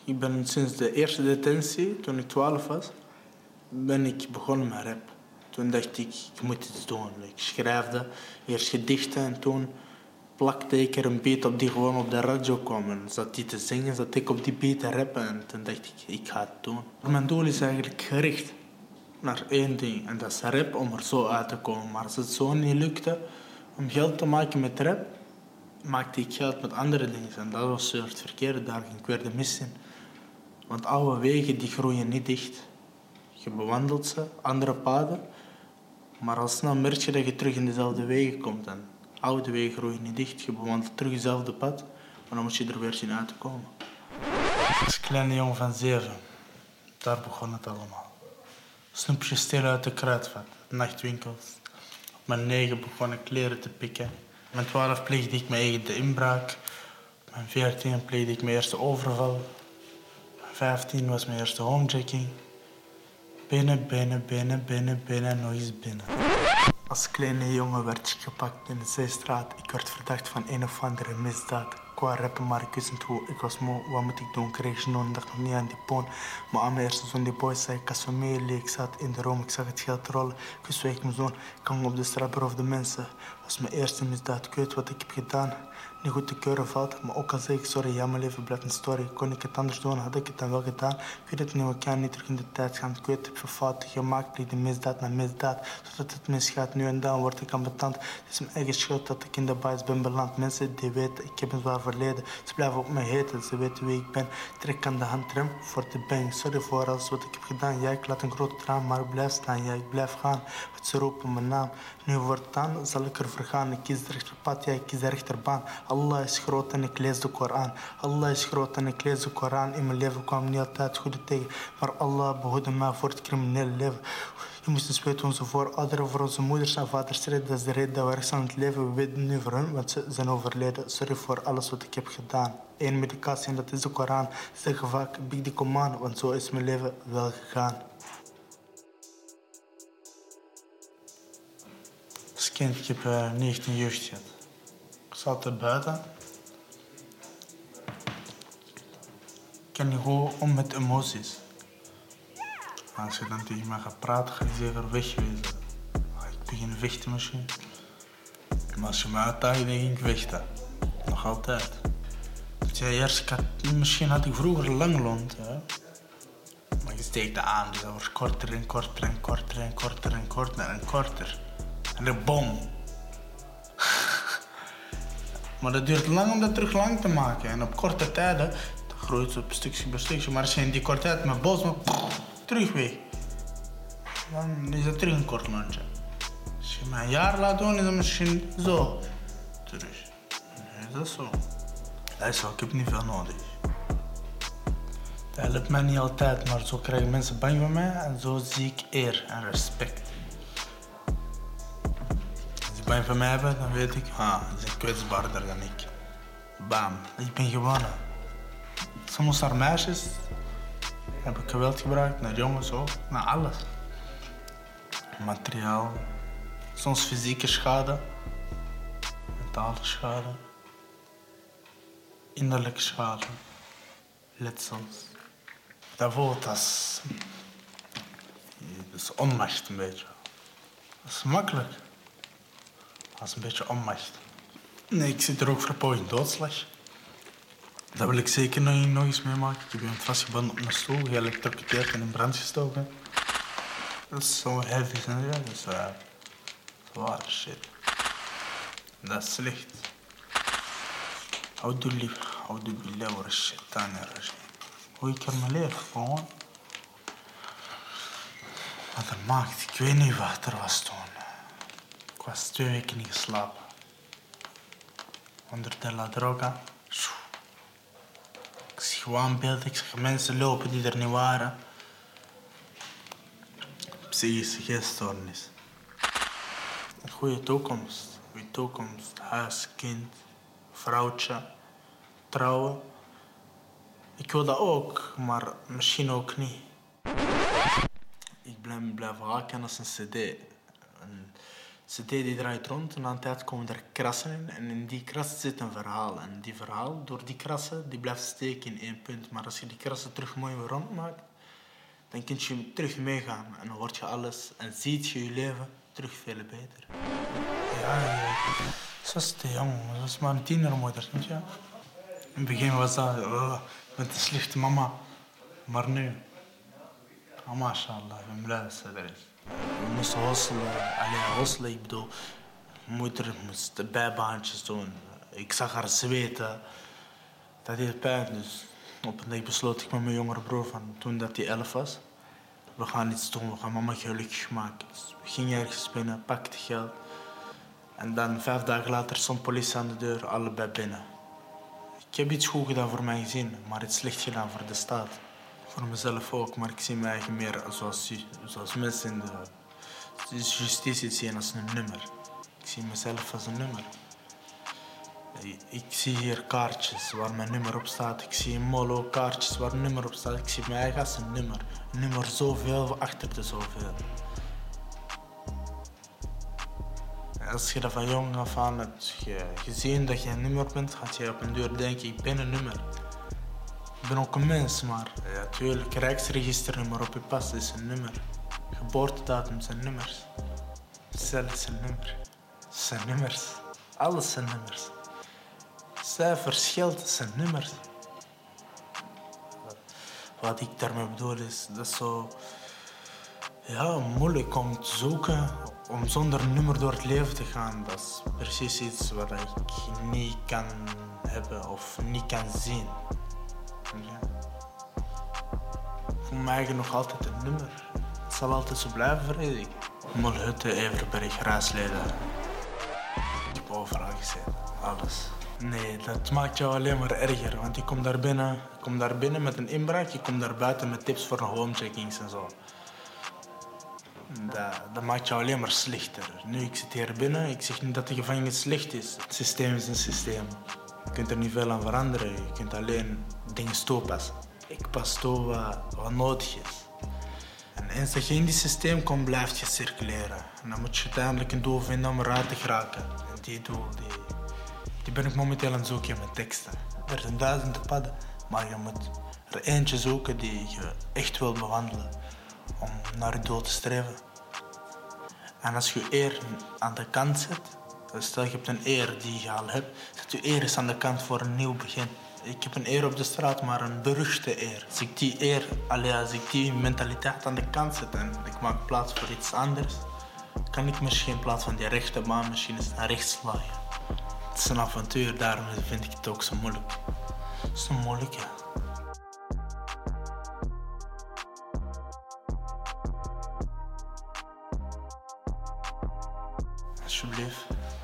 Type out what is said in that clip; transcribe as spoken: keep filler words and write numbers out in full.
Ik ben sinds de eerste detentie, toen ik twaalf was, ben ik begonnen met rap. Toen dacht ik, ik moet iets doen. Ik schreefde eerst gedichten en toen plakte ik er een beat op die gewoon op de radio kwam. En zat die te zingen, zat ik op die beat te rappen en toen dacht ik, ik ga het doen. Mijn doel is eigenlijk gericht naar één ding en dat is rap om er zo uit te komen. Maar als het zo niet lukte om geld te maken met rap, maakte ik geld met andere dingen. En dat was het verkeerde, daar ging ik weer de mis in. Want oude wegen die groeien niet dicht. Je bewandelt ze, andere paden. Maar al snel merk je dat je terug in dezelfde wegen komt. En oude wegen groeien niet dicht. Je bewandelt terug hetzelfde pad. Maar dan moet je er weer zien uit te komen. Als kleine jongen van zeven. Daar begon het allemaal. Snoepjes stelen uit de kruidvat. Nachtwinkels. Op mijn negen begon ik kleren te pikken. Op mijn twaalf pleegde ik mijn eigen de inbraak. Op mijn veertien pleegde ik mijn eerste overval. vijftien was mijn eerste homejacking. Binnen, binnen, binnen, binnen, binnen, nog eens binnen. Als kleine jongen werd ik gepakt in de Zeestraat. Ik werd verdacht van een of andere misdaad. Ik wou rappen, maar ik wist niet hoe. Ik was moe, wat moet ik doen? Ik kreeg genoeg en dacht nog niet aan die poon. Maar aan mijn eerste zoon, die boy, zei ik als familie. Ik zat in de room, ik zag het geld rollen. Ik bezweek mijn zoon, ik hang op de straat, beroofde mensen. Dat was mijn eerste misdaad, ik weet wat ik heb gedaan. Niet goed te keuren valt, maar ook al zeg ik sorry, ja, mijn leven blijft een story. Kon ik het anders doen, had ik het dan wel gedaan. Ik weet het niet, we kan niet terug in de tijd gaan. Ik weet, ik heb veel fouten gemaakt, pleeg de misdaad na misdaad. Zodat het misgaat, nu en dan word ik ambetant. Het is mijn eigen schuld dat ik in de bias ben beland. Mensen die weten, ik heb een zwaar verleden. Ze blijven op me heten, ze weten wie ik ben. Trek aan de handrem voor de bang. Sorry voor alles wat ik heb gedaan. Ja, ik laat een grote traan, maar ik blijf staan. Ja, ik blijf gaan, want ze roepen mijn naam. Nu voortaan zal ik er vergaan. Ik kies de rechterpad, ja, ik kies de rechterbaan. Allah is groot en ik lees de Koran. Allah is groot en ik lees de Koran. In mijn leven kwam niet altijd goede tegen. Maar Allah behoedde mij voor het criminele leven. Je moest eens weten onze voorouderen, voor onze moeders en vaders strijden. Dat is de reden dat we rechts aan het leven. We weten nu voor hun, want ze zijn overleden. Sorry voor alles wat ik heb gedaan. Eén medicatie en dat is de Koran. Ze zeggen vaak, big die command, want zo is mijn leven wel gegaan. Als kind, ik heb uh, negentien jeugd gehad. Ik zat er buiten. Ik kan niet goed om met emoties. Als je dan tegen mij gaat praten, ga je zeker wegwezen. Ik begin vechten misschien. Maar als je me uitdaagt, dan ging ik vechten. Nog altijd. Ja, eerst, had, misschien had ik vroeger lang lont. Hè? Maar je steekt dat aan, dus dat wordt korter en korter en korter en korter en korter en korter. En dan bom. Maar dat duurt lang om dat terug lang te maken. En op korte tijden, dan groeit het op stukje bij stukje. Maar als je in die korte tijd met bos, maar terug weg. Dan is het terug een kort lontje. Als je me een jaar laat doen, is het misschien zo. Terug. Nee, dat is zo. Dat is zo, ik heb niet veel nodig. Dat helpt mij niet altijd, maar zo krijgen mensen bang van mij. En zo zie ik eer en respect. Als ze bang van mij hebben, dan weet ik, ah, ze zijn kwetsbaarder dan ik. Bam, ik ben gewonnen. Soms naar meisjes heb ik geweld gebruikt, naar jongens ook, naar alles. Materiaal, soms fysieke schade, mentale schade, innerlijke schade, letsels. Dat voelt als, dat is onmacht een beetje. Dat is makkelijk. Dat is een beetje onmacht. Nee, ik zit er ook voor poging doodslag. Dat wil ik zeker nog, nog eens meemaken. Ik ben vastgebonden op mijn stoel, geëlectrocuteerd en in brand gestoken. Dat is zo heavy, hè? Dat is uh, zware shit. Dat is slecht. Houdoe lief, houdoe billah wa shaitan rajim. Hoe ik er mijn leven gewoon. Wat er maakt, ik weet niet wat er was toen. Ik was twee weken niet geslapen. Onder de la droga. Ik zie gewoon beelden, ik zag mensen lopen die er niet waren. Psychische geeststoornis. Een goede toekomst. Goede toekomst. Huis, kind, vrouwtje, trouwen. Ik wil dat ook, maar misschien ook niet. Ik blijf blijven haken als een cd. Een C D die draait rond en aan de tijd komen er krassen in. En in die krassen zit een verhaal. En die verhaal, door die krassen, die blijft steken in één punt. Maar als je die krassen terug mooi weer rond maakt, dan kun je terug meegaan. En dan word je alles en ziet je je leven terug veel beter. Ja, ja. Zoals de jong, zoals maar een tienermoeder, weet je. In het begin was dat, oh, ik ben een slechte mama. Maar nu, oh, mashallah, ik ben blij dat ze er is. We moesten hosselen, alleen hosselen, ik bedoel, moeder moest bijbaantjes doen. Ik zag haar zweten, dat deed pijn. Dus op een dag besloot ik met mijn jongere broer van toen dat hij elf was. We gaan iets doen, we gaan mama gelukkig maken. Dus we gingen ergens binnen, pakten geld. En dan vijf dagen later stond politie aan de deur, allebei binnen. Ik heb iets goed gedaan voor mijn gezin, maar iets slecht gedaan voor de staat. Voor mezelf ook, maar ik zie mij eigen meer zoals, zoals mensen in de justitie zien als een nummer. Ik zie mezelf als een nummer. Ik zie hier kaartjes waar mijn nummer op staat. Ik zie in Molo kaartjes waar een nummer op staat. Ik zie mij eigen als een nummer. Een nummer zoveel achter de zoveel. Als je dat van jong af aan hebt gezien dat je een nummer bent, gaat je op een deur denken, ik ben een nummer. Ik ben ook een mens, maar ja, natuurlijk, rijksregisternummer op je pas is een nummer. Geboortedatum zijn nummers. Cel is een nummer. Het zijn nummers. Alles zijn nummers. Cijfers, geld zijn nummers. Wat ik daarmee bedoel is, dat is zo ja, moeilijk om te zoeken, om zonder een nummer door het leven te gaan. Dat is precies iets wat ik niet kan hebben of niet kan zien. Ja. Voor mij nog altijd een nummer. Het zal altijd zo blijven, vrees ik. Molhutte, Everberg, Raasleden. Ik heb overal gezeten, alles. Nee, dat maakt jou alleen maar erger, want je komt daar binnen, je komt daar binnen met een inbraak, je komt daar buiten met tips voor homecheckings en zo. Dat, dat maakt jou alleen maar slechter. Nu, ik zit hier binnen, ik zeg niet dat de gevangenis slecht is. Het systeem is een systeem. Je kunt er niet veel aan veranderen, je kunt alleen dingen toepassen. Ik pas toe wat, wat nodig is. En eens dat je in die systeem komt, blijf je circuleren. En dan moet je uiteindelijk een doel vinden om eruit te geraken. En die doel, die, die ben ik momenteel aan het zoeken met teksten. Er zijn duizenden padden, maar je moet er eentje zoeken die je echt wil bewandelen. Om naar je doel te streven. En als je eer aan de kant zet, stel je hebt een eer die je al hebt, zet je eer eens aan de kant voor een nieuw begin. Ik heb een eer op de straat, maar een beruchte eer. Als ik die eer, allee, als ik die mentaliteit aan de kant zet en ik maak plaats voor iets anders, kan ik misschien in plaats van die rechte baan misschien eens naar rechts slaan. Het is een avontuur, daarom vind ik het ook zo moeilijk. Zo moeilijk, ja. Alsjeblieft.